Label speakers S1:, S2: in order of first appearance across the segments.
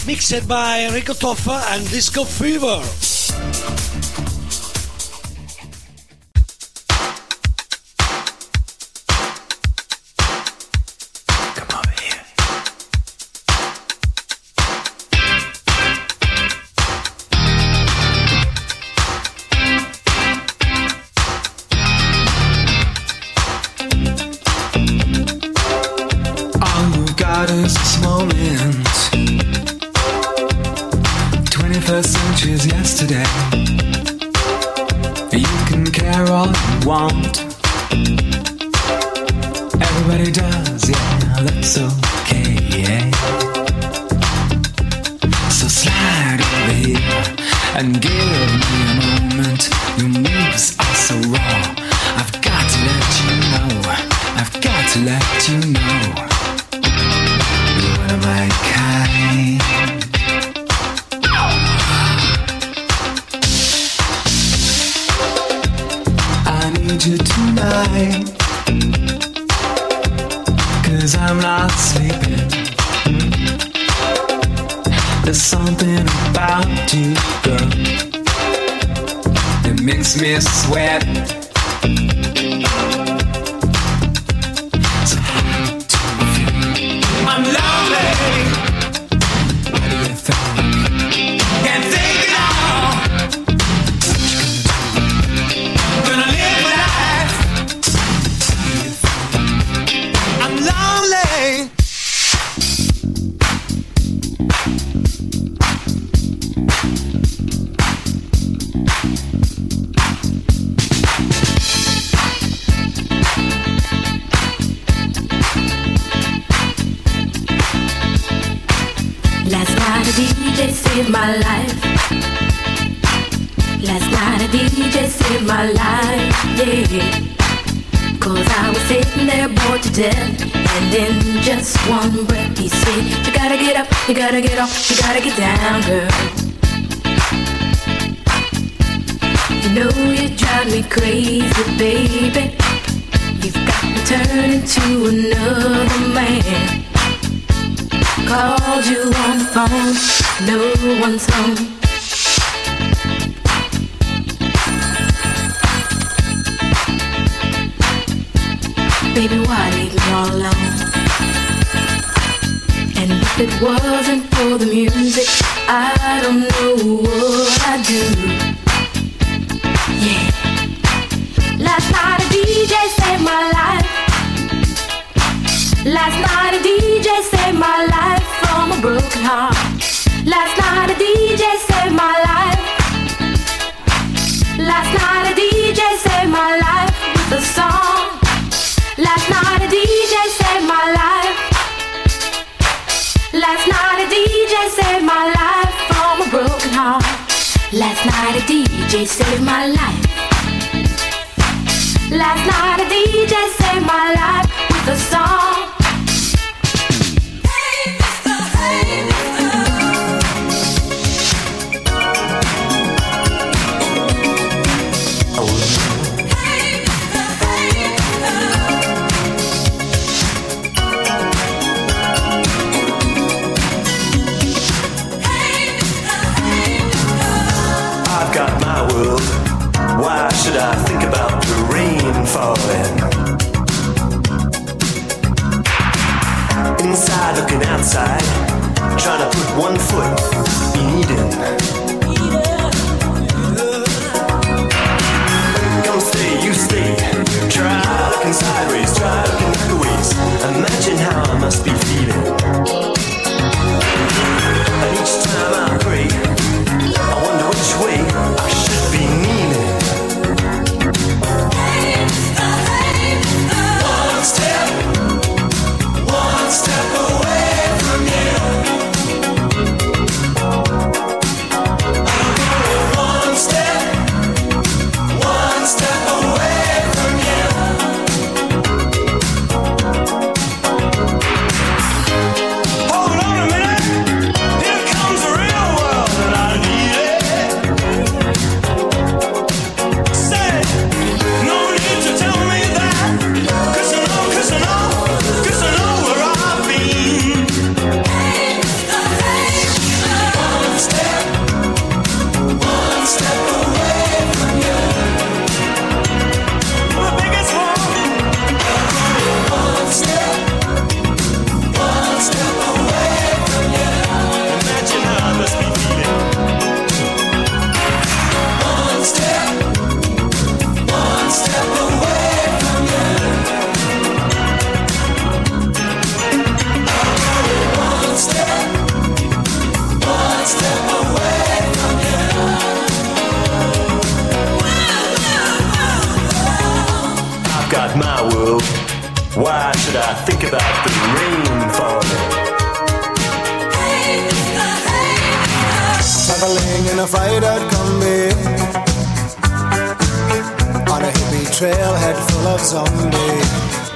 S1: Mixed by Enrico Toffa and Disco Fever.
S2: Yesterday, you can care all you want. Everybody does, yeah, that's okay, yeah. So slide over here and give me a moment. Your moves are so raw. I've got to let you know. I've got to let you know. You're one of my kind. You tonight, 'cause I'm not sleeping. There's something about you, girl, that makes me sweat. So how do you feel? I'm lonely. What do you think? Can't think it all. What you gonna do? Gonna live my life. I'm lonely.
S3: Last night a DJ saved my life. Last night a DJ saved my life, yeah. 'Cause I was sitting there bored to death, and in just one breath he said, you gotta get up, you gotta get off, you gotta get down, girl. You know you drive me crazy, baby. You've got me turning to another man. Called you on the phone, no one's home. Baby, why leave me all alone? And if it wasn't for the music, I don't know what I'd do. Yeah. Last night a DJ saved my life. Last night a DJ saved my life from a broken heart. Last night a DJ saved my life. Last night a DJ saved my life with a song. Last night a DJ saved my life. Last night a DJ saved my life from a broken heart. Last night a DJ saved my life. Last night a DJ saved my life with a song.
S4: Why should I think about the rain falling? Inside looking outside, trying to put one foot in Eden. Come stay, you stay. Try looking sideways, try looking backwards. Imagine how I must be feeling. And each time I pray, I wonder which way I should be kneeling. One step away from you. think about the rain falling.
S5: Traveling in a fried-out Kombi on a hippie trailhead full of zombies.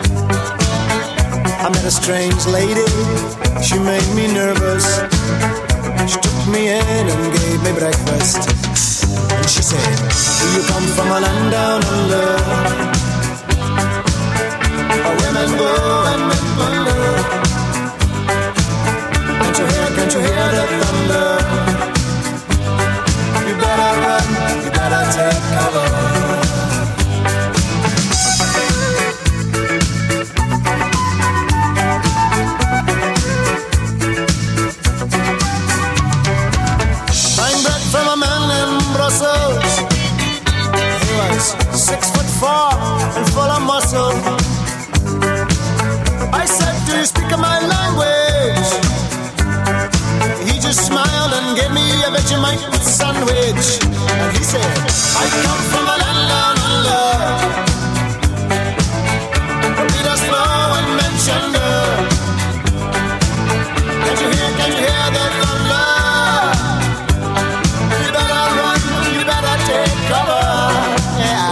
S5: I met a strange lady, she made me nervous. She took me in and gave me breakfast. And she said, do you come from a land down under, where women go and men wonder? Can't you hear the thunder? You better run, you better take cover. Buying bread from a man in Brussels. He was 6'4" and full of muscle. I said, do you speak my language? He just smiled and gave me a Vegemite sandwich. And he said, I come from a land down under, Peter Slow and Mentioner. Can't you hear the thunder? You better run, you better take cover. Yeah.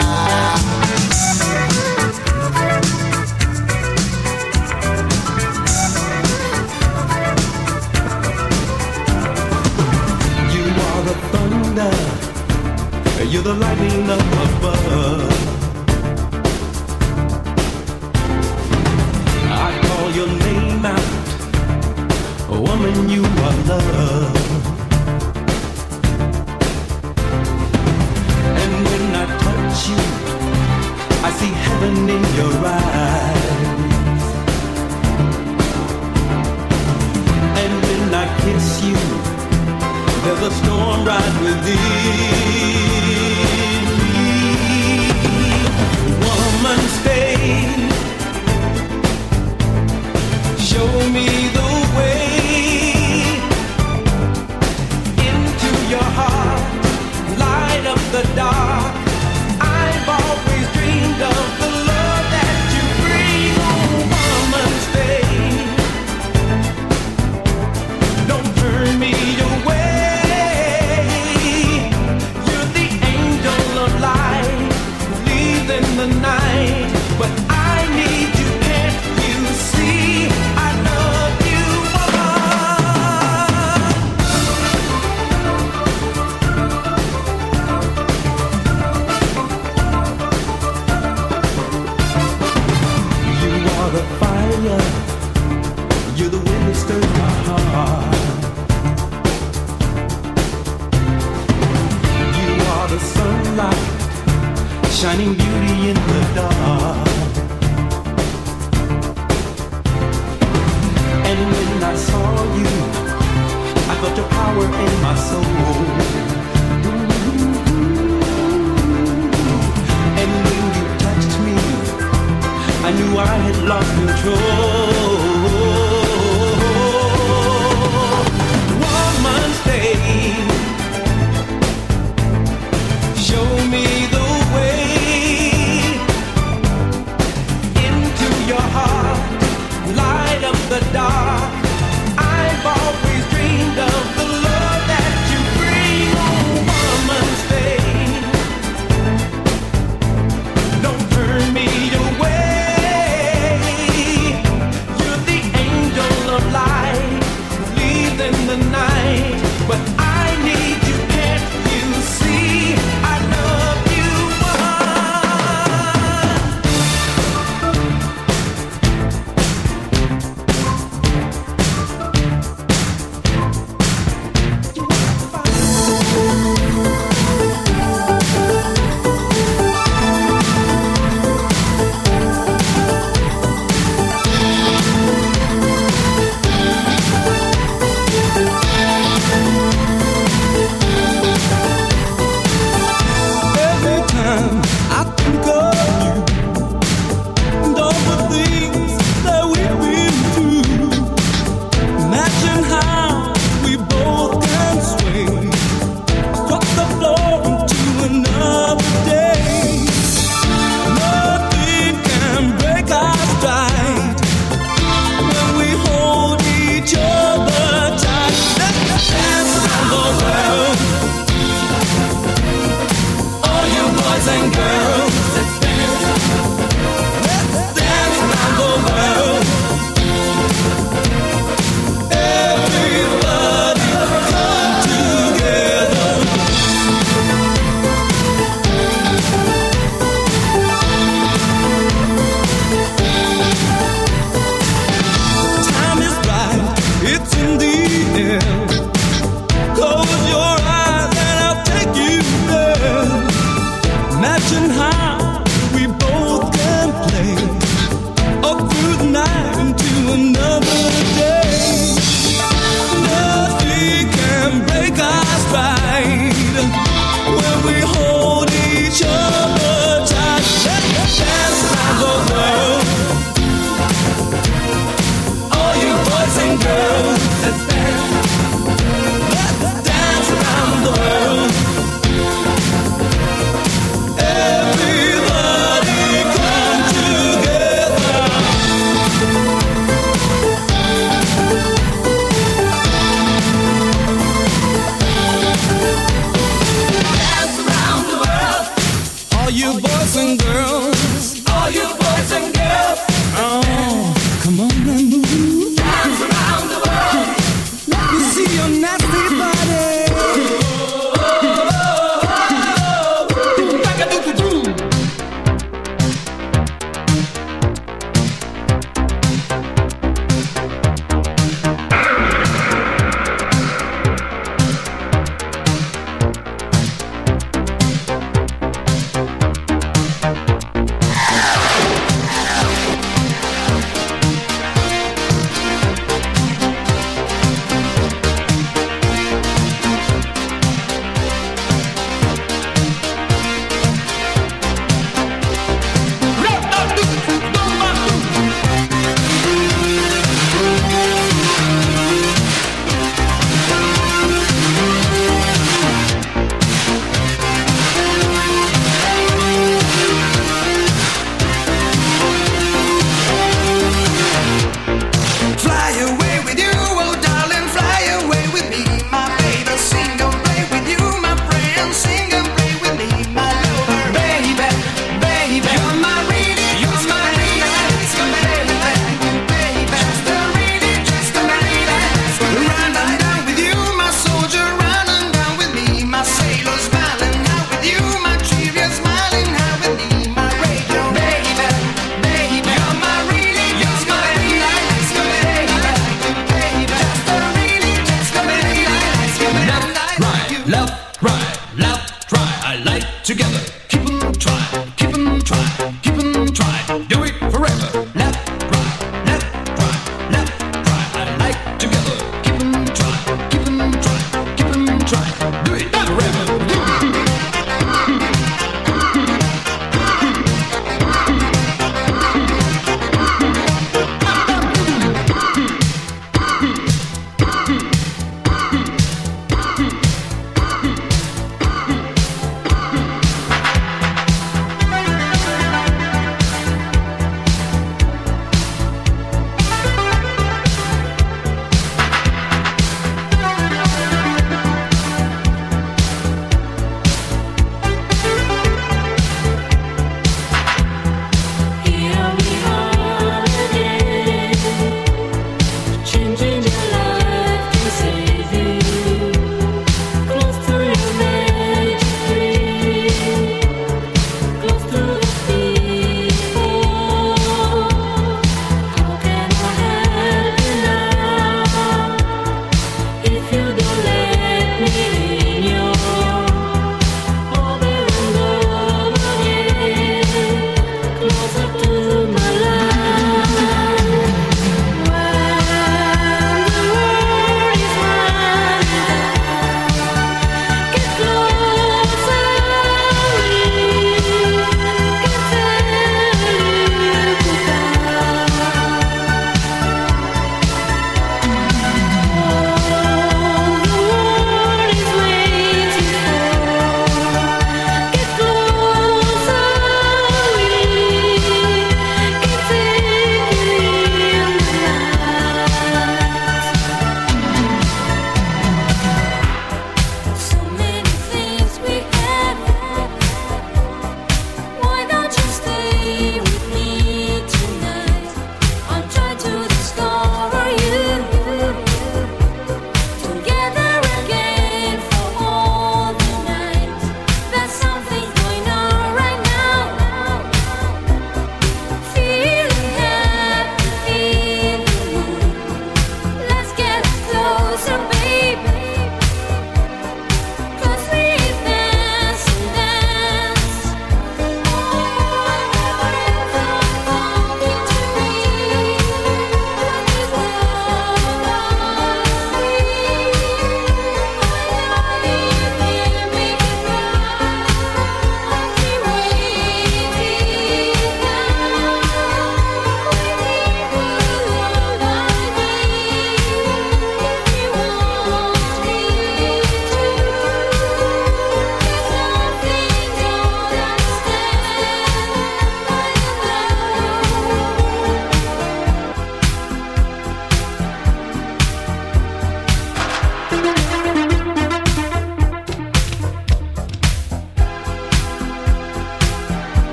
S6: You're the lightning up above. I call your name out, woman, you are love. And when I touch you, I see heaven in your eyes. And when I kiss you, there's a storm right within. Woman, stay. Show me the way into your heart. Light up the dark. I've always dreamed of the love that you bring. Oh, woman, stay. Don't turn me away. The night, but I need you, can't you see? I love you, you are the fire, you're the wind that stirs my heart. You are the sunlight, shining beauty in the dark. And when I saw you, I felt your power in my soul. And when you touched me, I knew I had lost control. Woman, stay. Show me the way. Light up the dark. I've always dreamed of the love that you bring. Oh, woman, stay. Don't turn me away. You're the angel of light, leave in the night. But I need you, can't you see? I love you,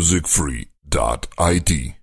S7: musicfree.it.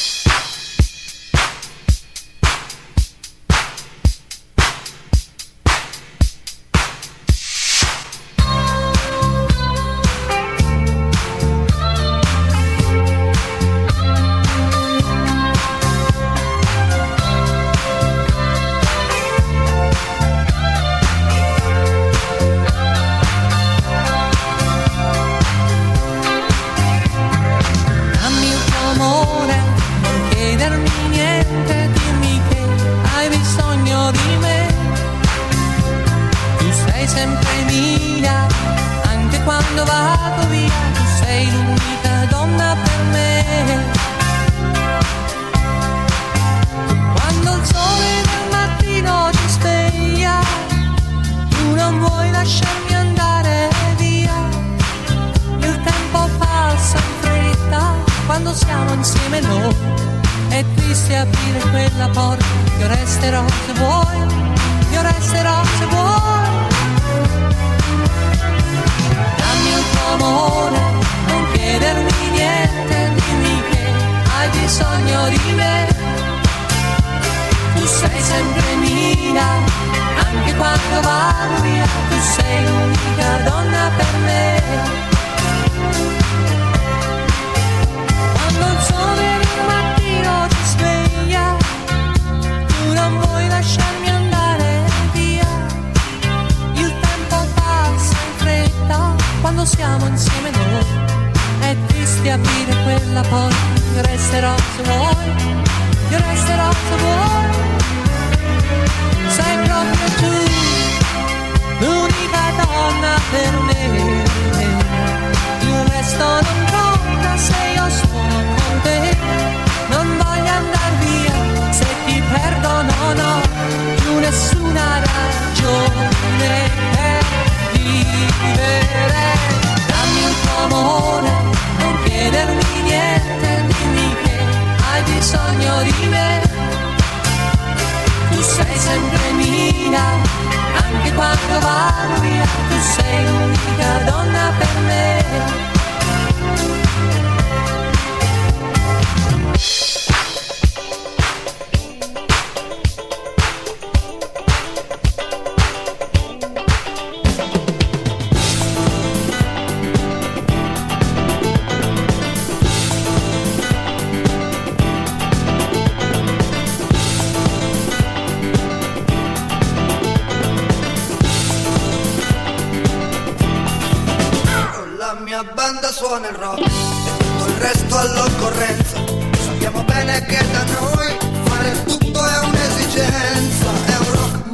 S8: Suona il rock e tutto il resto all'occorrenza. Sappiamo bene che da noi fare tutto è un'esigenza. È un rock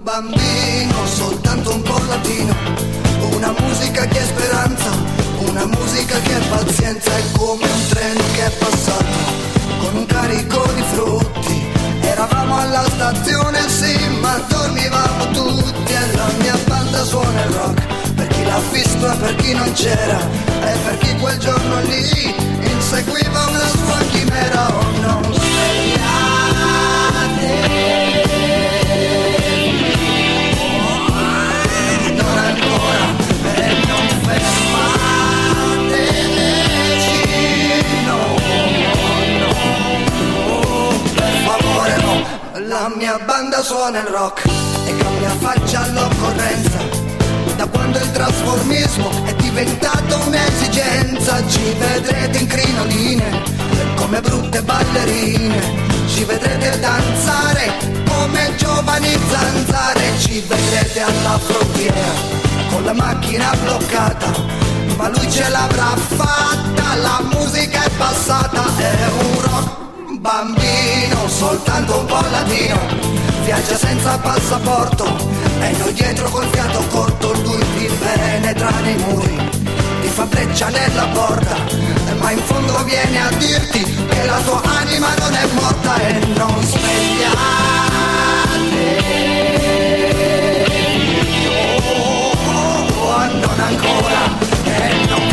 S8: bambino, soltanto un po' latino. Una musica che è speranza, una musica che è pazienza. È come un treno che è passato con un carico di frutti. Eravamo alla stazione, sì, ma dormivamo tutti. E la mia banda suona il rock per chi l'ha visto e per chi non c'era, e per chi quel giorno lì inseguiva una sua chimera. Oh, non svegliate, non ancora, e non fermateci, no, no, per favore no. La mia banda suona il rock e cambia faccia all'occorrenza. Da quando il trasformismo è diventato un'esigenza, ci vedrete in crinoline come brutte ballerine, ci vedrete danzare come giovani zanzare, ci vedrete alla frontiera con la macchina bloccata, ma lui ce l'avrà fatta, la musica è passata. È un rock bambino, soltanto un po' latino, viaggia senza passaporto e noi dietro col fiato corto. Lui ti penetra nei muri, ti fa breccia nella porta, ma in fondo viene a dirti che la tua anima non è morta. E non svegliate, non ancora, e non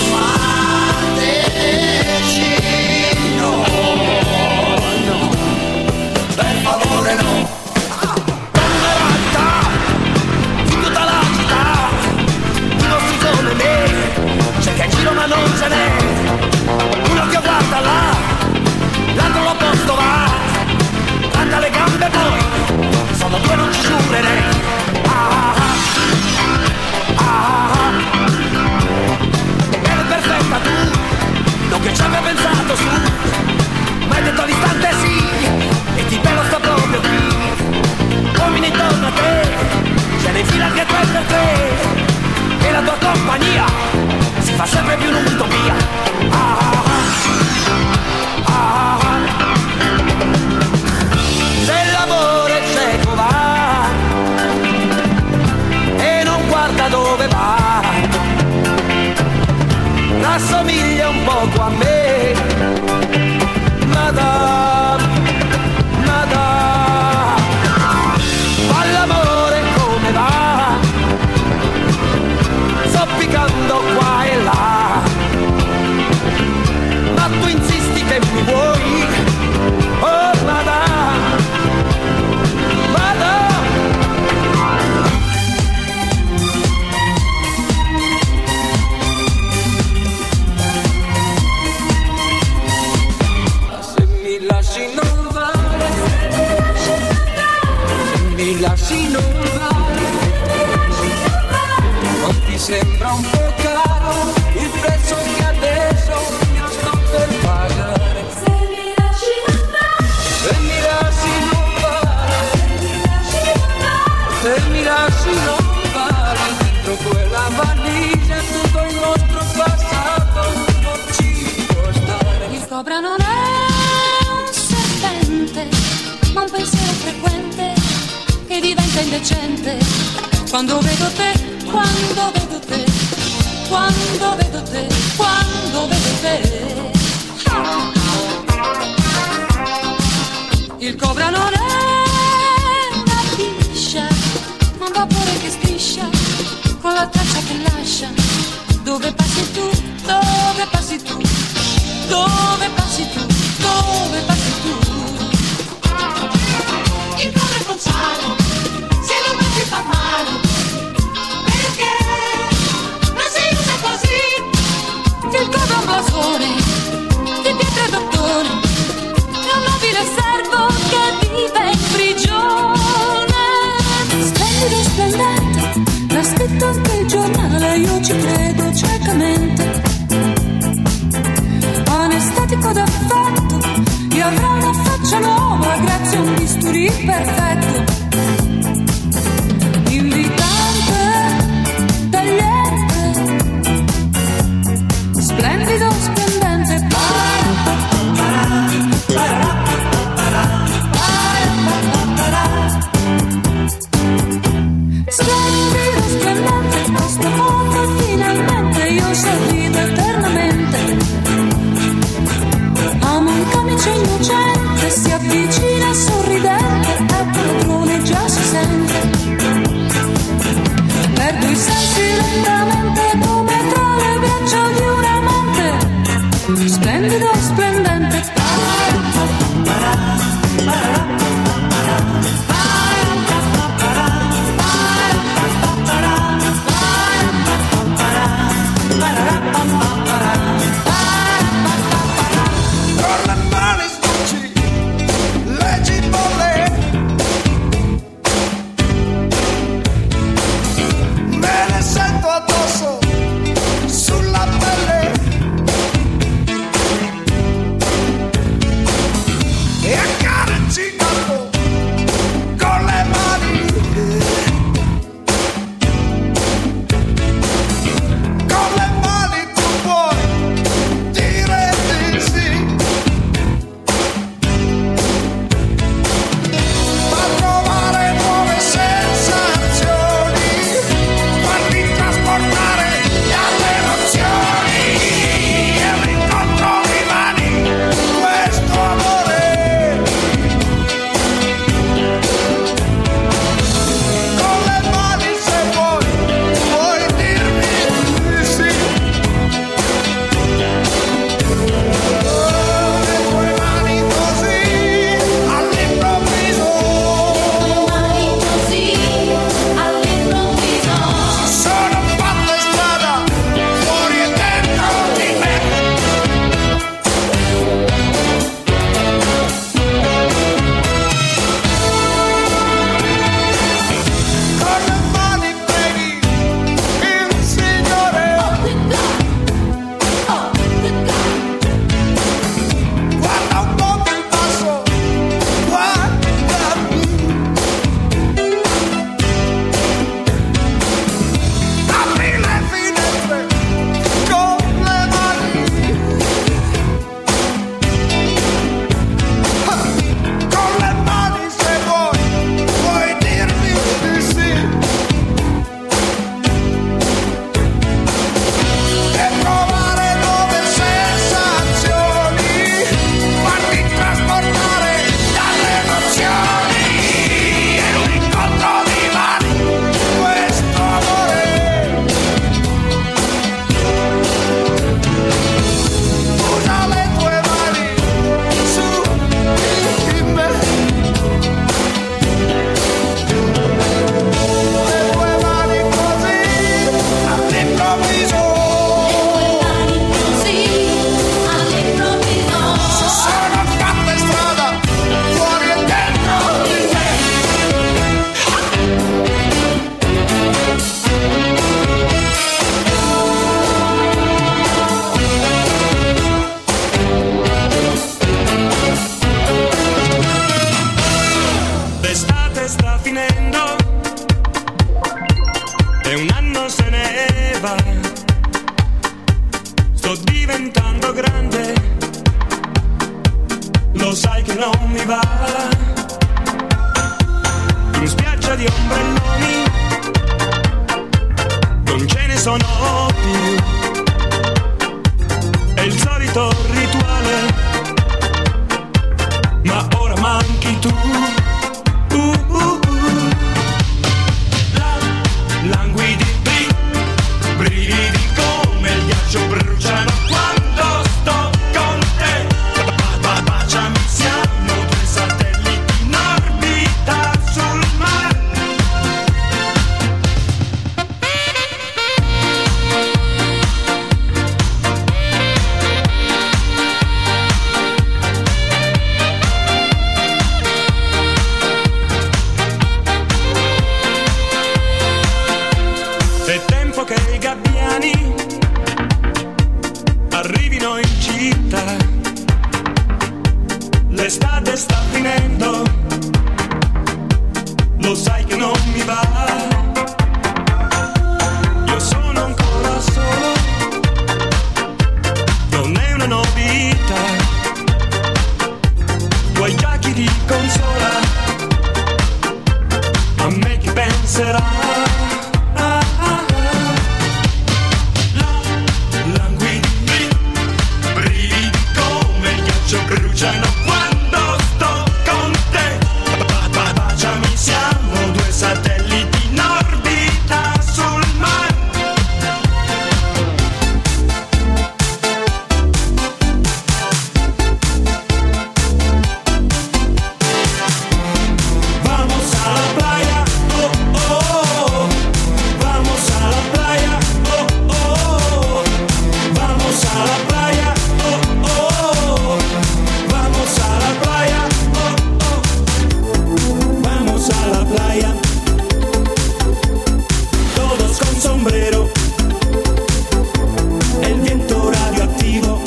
S8: fermateci, no, no, per favore no.
S6: C'è che giro ma non ce n'è, assomiglia un poco a me. Madame, Madame, fa l'amore come va, zoppicando qua e là, ma tu insisti che mi vuoi, oh Madame, Madame.
S2: Lasci non vale, non ti sembra un po' caro il prezzo che adesso io sto per pagare? Se mi lasci non vale, se mi lasci non vale, se mi lasci non vale, dentro quella valigia tutto il nostro passato non ci può stare.
S3: Il cobra non è un serpente, ma un pensiero frequente che diventa indecente quando vedo te, quando vedo te, quando vedo te, quando vedo te. Il cobra non è una biscia, ma un vapore che striscia con la traccia che lascia. Dove passi tu, dove passi tu, dove passi tu, dove passi tu. Il cobra è Gonzalo, se lo metti fa male, perché non si usa così. Il cobra è un blasone di pietra e d'ottone, è un nobile servo che vive in prigione. Splendido, splendente, l'ha scritto anche il giornale, io ci credo ciecamente. Anestetico d'effetto, io avrò una faccia nuova grazie a un bisturi perfetto. Invitante, tagliente, splendido, splendente. Splendido, splendente, questo mondo finalmente io sorrido eternamente. Amo un camice innocente, si avvicina sorridente, è padrone, già si sente. Perdo i sensi lentamente come tra le braccia di un amante. Splendido, splendente.
S4: non mi va. In spiaggia di ombrelloni non ce ne sono più. È il solito rituale, ma ora manchi tu. Languidi, brividi come il ghiaccio bruciano quando sto con te. Baciami, siamo due satelliti in orbita sul mare. È tempo che i gabbiani arrivino in città. L'estate sta finendo, lo sai che non mi va. Io sono ancora solo, non è una novità. Tu hai già chi ti consola, a me chi penserà. Bruciano quando sto con te. Baciami, siamo due satelliti in orbita sul mare. Vamos a la playa, oh oh. Vamos a la playa, oh oh. Vamos a la playa, oh oh. Vamos a la playa, oh oh. Vamos a la playa. Todos con sombrero. El viento radioactivo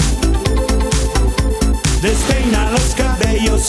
S4: despeina los cabellos.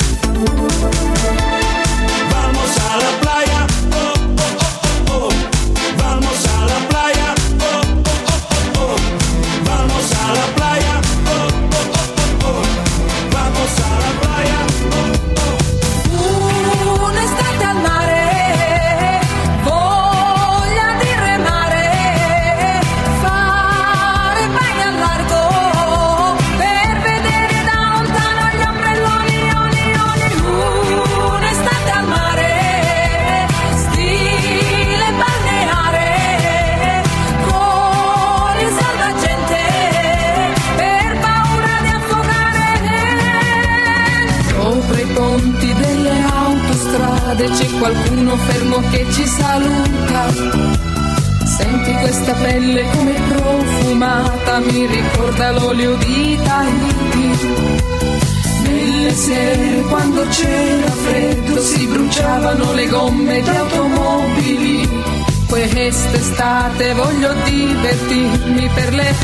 S4: Vamos a la playa, oh oh oh oh. Vamos a la playa, oh oh oh oh. Vamos a la playa, oh oh oh oh. Vamos a la playa, oh oh.
S3: Un'estate al mare, voglia di remare, fare bagno al largo, per vedere da lontano gli ombrelloni, oni, oni. Un'estate al mare, stile balneare, con il salvagente, per paura di affogare. Sopra i ponti delle autostrade c'è qualcuno fermo che ci saluta. Senti questa pelle come profumata, mi ricorda l'olio di Tahiti. Nelle sere quando c'era freddo si bruciavano le gomme di automobili. Quest'estate voglio divertirmi per le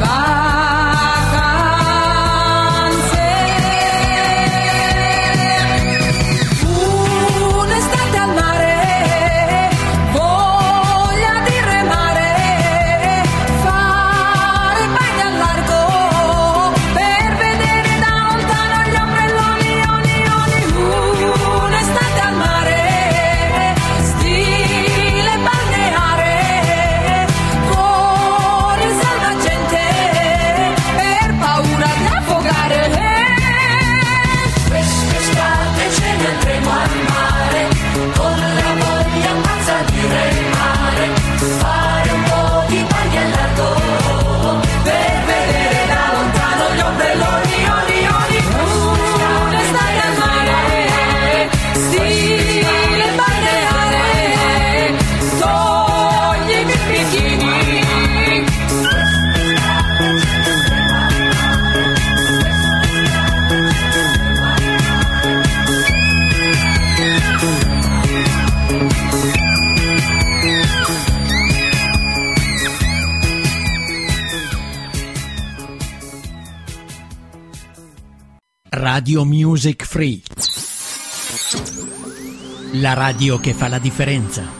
S3: vacanze. Un'estate al mare, voglia di remare, fare bagno al largo, per vedere da lontano gli ombrelloni, oni, oni. Un'estate al mare, stile balneare, con il salvagente, per paura di affogare.
S7: Quest'estate ce ne andremo al mare, con la voglia pazza di remare, fare un po' di bagno al largo, per vedere da lontano gli ombrelloni, oni, oni.
S3: Un'estate al mare, stile balneare, toglimi il bikini.
S9: Radio Music Free. La radio che fa la differenza.